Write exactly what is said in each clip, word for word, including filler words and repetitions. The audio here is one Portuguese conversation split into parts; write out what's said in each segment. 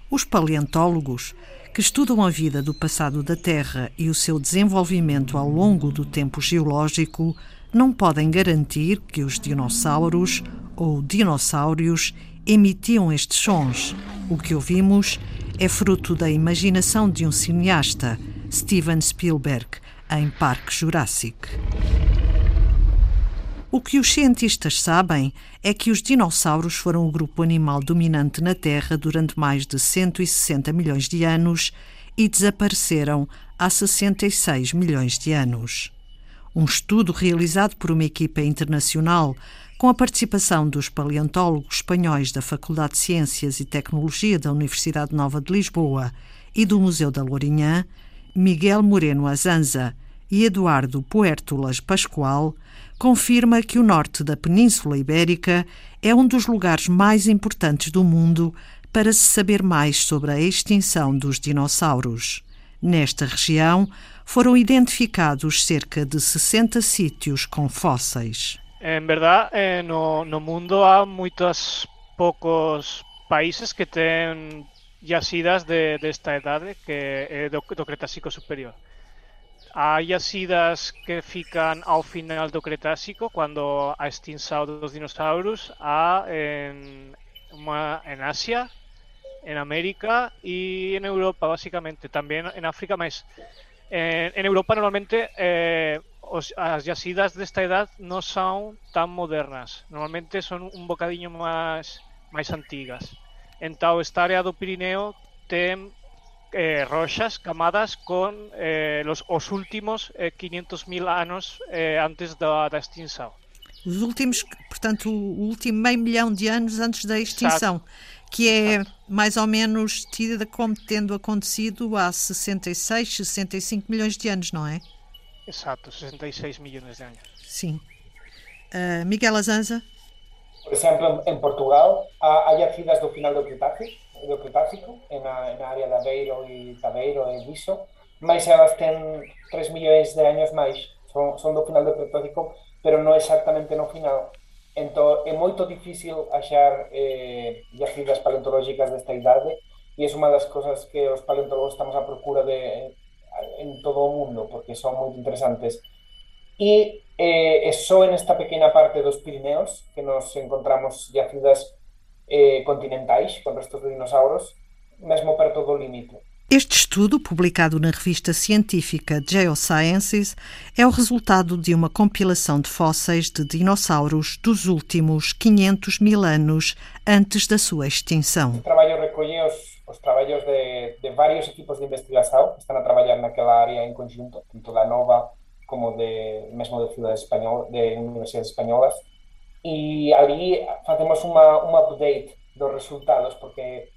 Os paleontólogos, que estudam a vida do passado da Terra e o seu desenvolvimento ao longo do tempo geológico, não podem garantir que os dinossauros ou dinossauros emitiam estes sons. O que ouvimos é fruto da imaginação de um cineasta, Steven Spielberg, em Parque Jurássico. O que os cientistas sabem é que os dinossauros foram o grupo animal dominante na Terra durante mais de cento e sessenta milhões de anos e desapareceram há sessenta e seis milhões de anos. Um estudo realizado por uma equipa internacional com a participação dos paleontólogos espanhóis da Faculdade de Ciências e Tecnologia da Universidade Nova de Lisboa e do Museu da Lourinhã, Miguel Moreno Azanza e Eduardo Puértolas Pascoal, confirma que o norte da Península Ibérica é um dos lugares mais importantes do mundo para se saber mais sobre a extinção dos dinossauros. Nesta região foram identificados cerca de sessenta sítios com fósseis. En verdad, eh, no, no mundo há muitos poucos países que têm yacidas de, desta idade, que é do, do Cretácico superior. Há yacidas que ficam ao final do Cretácico, quando a extinção dos dinossauros, há em, uma em Ásia, em América e em Europa, basicamente. Também em África, mas em, em Europa normalmente eh, os, as yacidas desta idade não são tão modernas. Normalmente são um bocadinho mais, mais antigas. Então, esta área do Pirineu tem Eh, rochas, camadas con eh, los, os últimos eh, quinhentos mil anos eh, antes da, da extinção. Os últimos, portanto, o último meio milhão de anos antes da extinção, Exato. que é Exato. mais ou menos tida como tendo acontecido há sessenta e seis, sessenta e cinco milhões de anos, não é? Exato, sessenta e seis milhões de anos. Sim. Uh, Miguel Azanza? Por exemplo, em Portugal, há, há yacidas do final do Cretácico, do Cretácico, na, na área de Aveiro e Taveiro e Viso, mas elas têm três milhões de anos mais, são, são do final do Cretácico, pero não exactamente no final. Então é muito difícil achar eh, yacidas paleontológicas desta idade e é uma das coisas que os paleontólogos estamos à procura de em todo o mundo, porque são muito interessantes. E eh, é só nesta pequena parte dos Pirineos que nos encontramos yacidas eh, continentais, com restos de dinossauros, mesmo perto do limite. Este estudo, publicado na revista científica Geosciences, é o resultado de uma compilação de fósseis de dinossauros dos últimos quinhentos mil anos antes da sua extinção. O trabalho recolhe os, os trabalhos de, de vários equipos de investigação que estão a trabalhar naquela área em conjunto, tanto da Nova como de, mesmo de cidades espanholas, de universidades espanholas, e ali fazemos uma, uma update dos resultados, porque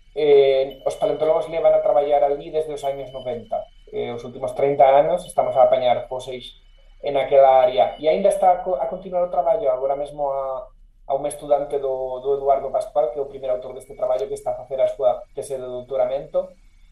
eh, os paleontólogos levan a traballar ali desde os anos noventa. Eh, os últimos trinta anos estamos a apañar fóseis en aquela área, e ainda está a, a continuar o traballo. Agora mesmo a, a un estudante do, do Eduardo Pascual, que é o primeiro autor deste traballo, que está a facer a súa tese de doutoramento,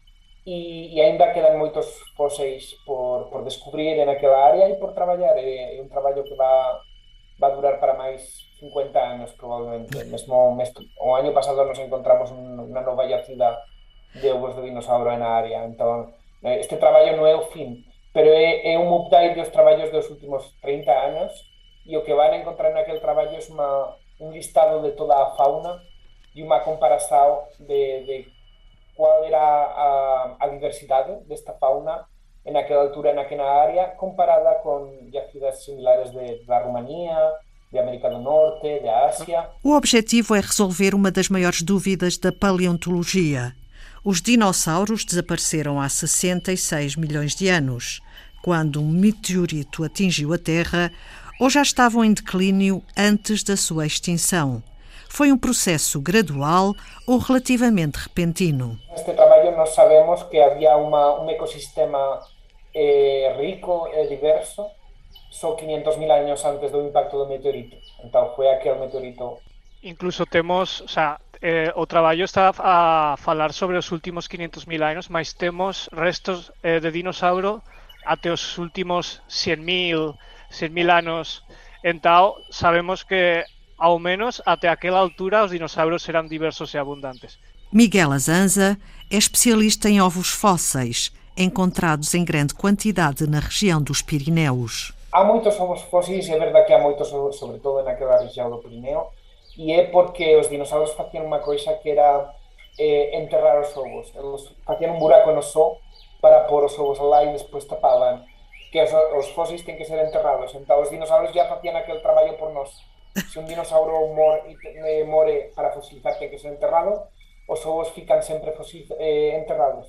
e, e ainda quedan moitos fóseis por, por descubrir en aquela área e por traballar. É, é un traballo que va va a durar para máis cincuenta anos, probablemente. Mesmo o año pasado nos encontramos unha nova yacida de ovos de dinossauro na área. Entón, este traballo non é o fin, pero é, é un update dos traballos dos últimos trinta anos, e o que van a encontrar naquele traballo é uma, un listado de toda a fauna e unha comparação de, de qual era a, a diversidade desta fauna naquela altura, naquela área, comparada com yacidas similares de, da Romania, de América do Norte, de Ásia. O objetivo é resolver uma das maiores dúvidas da paleontologia. Os dinossauros desapareceram há sessenta e seis milhões de anos, quando um meteorito atingiu a Terra, ou já estavam em declínio antes da sua extinção. Foi um processo gradual ou relativamente repentino. Neste trabalho nós sabemos que havia uma, um ecossistema eh, rico e diverso só quinhentos mil anos antes do impacto do meteorito. Então foi aquele meteorito. Incluso temos, o sea, eh, o traballo está a falar sobre os últimos quinhentos mil anos, mas temos restos eh, de dinossauro até os últimos cem mil anos. Então sabemos que ao menos até aquela altura os dinossauros eram diversos e abundantes. Miguel Azanza é especialista em ovos fósseis, encontrados em grande quantidade na região dos Pirineus. Há muitos ovos fósseis, é verdade que há muitos, sobretudo naquela região do Pirineu, e é porque os dinossauros faziam uma coisa que era eh, enterrar os ovos. Eles faziam um buraco no sol para pôr os ovos lá e depois tapavam. Que os, os fósseis têm que ser enterrados. Então os dinossauros já faziam aquele trabalho por nós. Se um dinossauro more, more para fossilizar tem que ser enterrado, os ovos ficam sempre fossil, eh, enterrados.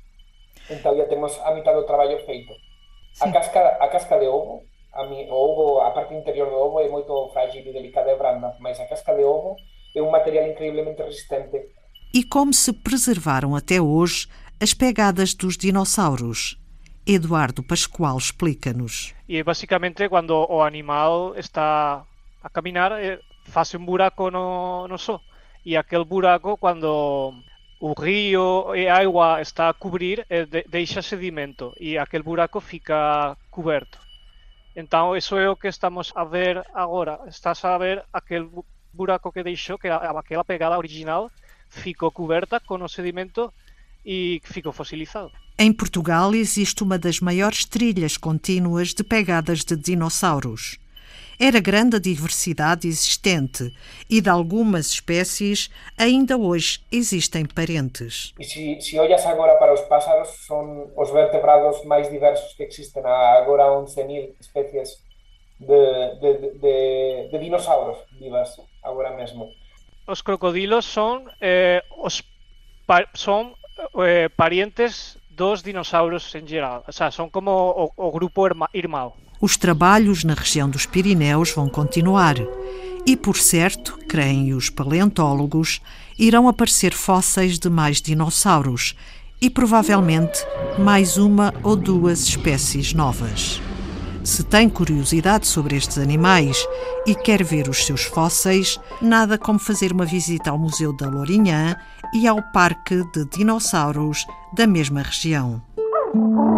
Então já temos a mitad do trabalho feito. A casca, a casca de ovo, a, mi, o ovo, a parte interior do ovo é muito frágil e delicada e branda, mas a casca de ovo é um material incrivelmente resistente. E como se preservaram até hoje as pegadas dos dinossauros? Eduardo Pascoal explica-nos. E basicamente quando o animal está a caminar, faz um buraco no, no sol. E aquele buraco, quando o rio e a água está a cobrir, deixa sedimento e aquele buraco fica coberto. Então, isso é o que estamos a ver agora. Estás a ver aquele buraco que deixou, que aquela pegada original ficou coberta com o sedimento e ficou fossilizado. Em Portugal existe uma das maiores trilhas contínuas de pegadas de dinossauros. Era grande a diversidade existente e de algumas espécies ainda hoje existem parentes. E se, se olhas agora para os pássaros, são os vertebrados mais diversos que existem. Há agora onze mil espécies de, de, de, de dinossauros vivas, agora mesmo. Os crocodilos são, eh, os pa, são eh, parientes dos dinossauros em geral. O sea, são como o, o grupo irmão. Os trabalhos na região dos Pirineus vão continuar e, por certo, creem os paleontólogos, irão aparecer fósseis de mais dinossauros e, provavelmente, mais uma ou duas espécies novas. Se tem curiosidade sobre estes animais e quer ver os seus fósseis, nada como fazer uma visita ao Museu da Lourinhã e ao Parque de Dinossauros da mesma região.